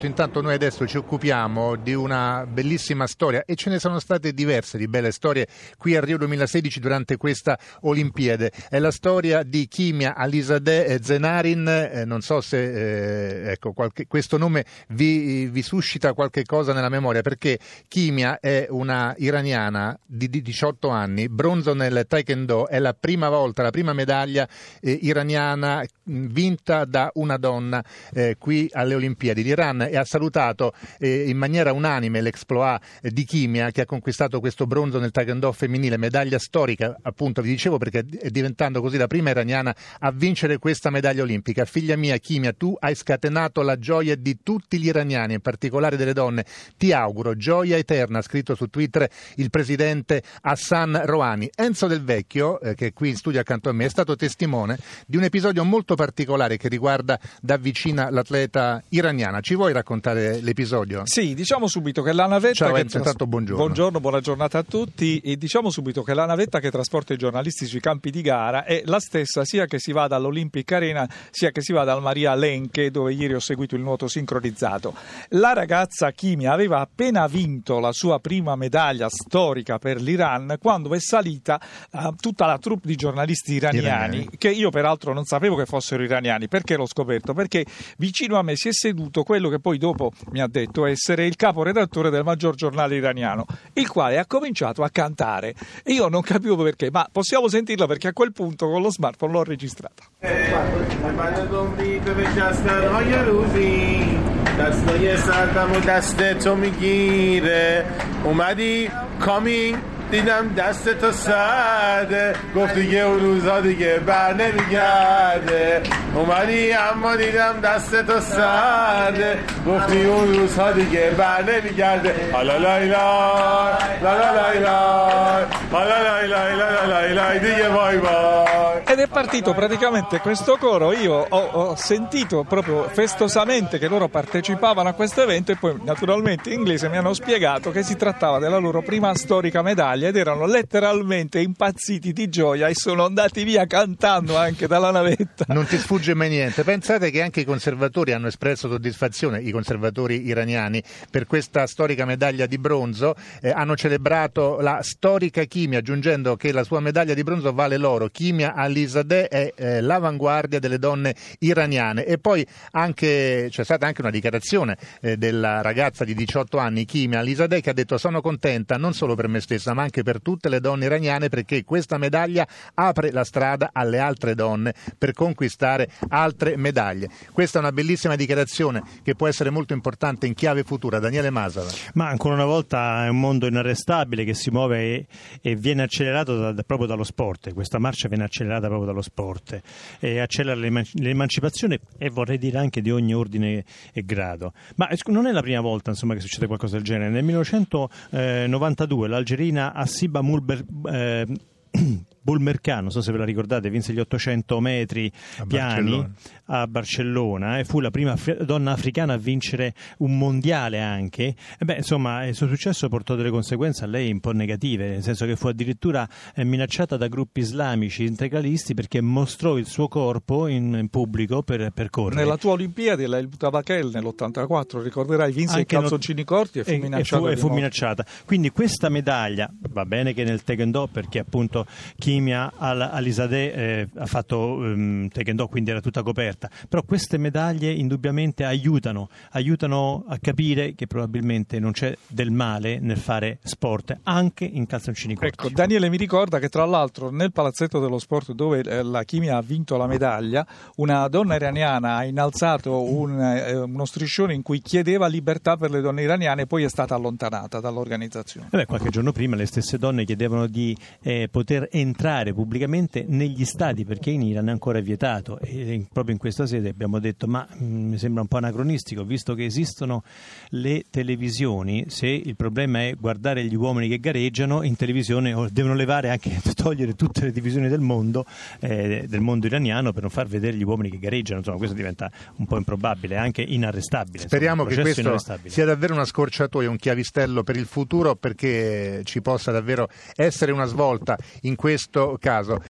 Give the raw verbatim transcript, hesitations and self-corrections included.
Intanto noi adesso ci occupiamo di una bellissima storia e ce ne sono state diverse di belle storie qui a Rio duemilasedici durante questa Olimpiade. È la storia di Kimia Alizadeh Zenarin, eh, non so se eh, ecco, qualche, questo nome vi, vi suscita qualche cosa nella memoria, perché Kimia è una iraniana di, di diciotto anni, bronzo nel Taekwondo, è la prima volta, la prima medaglia eh, iraniana vinta da una donna eh, qui alle Olimpiadi. L'Iran e ha salutato eh, in maniera unanime l'exploit eh, di Kimia, che ha conquistato questo bronzo nel Taekwondo femminile, medaglia storica, appunto vi dicevo, perché è diventando così la prima iraniana a vincere questa medaglia olimpica. Figlia mia Kimia, tu hai scatenato la gioia di tutti gli iraniani, in particolare delle donne. Ti auguro gioia eterna, ha scritto su Twitter il presidente Hassan Rouhani. Enzo Del Vecchio, eh, che è qui in studio accanto a me, è stato testimone di un episodio molto particolare che riguarda da vicina l'atleta iraniana. Ci vuoi raccontare l'episodio? Sì, diciamo subito che la navetta Ciao che Enzo, tras- intanto buongiorno. Buongiorno, buona giornata a tutti. E diciamo subito che la navetta che trasporta i giornalisti sui campi di gara è la stessa sia che si vada all'Olympic Arena sia che si vada al Maria Lenche, dove ieri ho seguito il nuoto sincronizzato. La ragazza Kimia aveva appena vinto la sua prima medaglia storica per l'Iran quando è salita uh, tutta la troupe di giornalisti iraniani, iraniani, che io peraltro non sapevo che fossero iraniani. Perché l'ho scoperto? Perché vicino a me si è seduto quello che poi dopo mi ha detto essere il caporedattore del maggior giornale iraniano, il quale ha cominciato a cantare e io non capivo perché, ma possiamo sentirla perché a quel punto con lo smartphone l'ho registrata. دیدم دست تو سرده گفت دیگه اون روزا دیگه بر نمیگرده اومدی اما دیدم دست تو سرده گفتی اون روزها دیگه بر نمیگرده حالا لایلا لا لایلا حالا لایلا لایلا دیگه وای وای. Ed è partito praticamente questo coro. Io ho, ho sentito proprio festosamente che loro partecipavano a questo evento e poi naturalmente in inglese mi hanno spiegato che si trattava della loro prima storica medaglia ed erano letteralmente impazziti di gioia e sono andati via cantando anche dalla navetta. Non ti sfugge mai niente. Pensate che anche i conservatori hanno espresso soddisfazione, i conservatori iraniani, per questa storica medaglia di bronzo. Eh, hanno celebrato la storica Kimia, aggiungendo che la sua medaglia di bronzo vale l'oro. Kimia Alizadeh è eh, l'avanguardia delle donne iraniane. E poi anche c'è stata anche una dichiarazione eh, della ragazza di diciotto anni, Kimia Alizadeh, che ha detto: sono contenta non solo per me stessa ma anche per tutte le donne iraniane, perché questa medaglia apre la strada alle altre donne per conquistare altre medaglie. Questa è una bellissima dichiarazione che può essere molto importante in chiave futura. Daniele Masala. Ma ancora una volta è un mondo inarrestabile che si muove e, e viene accelerato da, da, proprio dallo sport. Questa marcia viene accelerata proprio dallo sport e accelera l'emancipazione, e vorrei dire anche di ogni ordine e grado. Ma non è la prima volta, insomma, che succede qualcosa del genere. Nel millenovecentonovantadue l'algerina Assiba Mulber eh, Bulmercano, non so se ve la ricordate, vinse gli ottocento metri a piani Barcellona. a Barcellona e fu la prima af- donna africana a vincere un mondiale anche. E beh, insomma, il suo successo portò delle conseguenze a lei un po' negative, nel senso che fu addirittura eh, minacciata da gruppi islamici integralisti perché mostrò il suo corpo in, in pubblico per, per correre. Nella tua Olimpiade, la El Tabakel nell'ottantaquattro, ricorderai, vinse anche i calzoncini corti e fu e, minacciata. E fu, e fu minacciata. Quindi questa medaglia, va bene che nel Taekwondo, perché appunto Kimia Alizadeh eh, ha fatto um, Taekwondo, quindi era tutta coperta, però queste medaglie indubbiamente aiutano aiutano a capire che probabilmente non c'è del male nel fare sport anche in calzoncini corti. Ecco, Daniele mi ricorda che tra l'altro nel palazzetto dello sport dove eh, la Kimia ha vinto la medaglia, una donna iraniana ha innalzato un, eh, uno striscione in cui chiedeva libertà per le donne iraniane e poi è stata allontanata dall'organizzazione. Eh beh, qualche giorno prima le stesse donne chiedevano di eh, poter entrare pubblicamente negli stadi, perché in Iran è ancora vietato, e proprio in questa sede abbiamo detto ma mh, mi sembra un po' anacronistico, visto che esistono le televisioni, se il problema è guardare gli uomini che gareggiano in televisione devono levare anche, togliere tutte le divisioni del mondo eh, del mondo iraniano per non far vedere gli uomini che gareggiano. Insomma, questo diventa un po' improbabile, anche inarrestabile. Speriamo insomma, che questo sia davvero una scorciatoia, un chiavistello per il futuro, perché ci possa davvero essere una svolta in questo caso.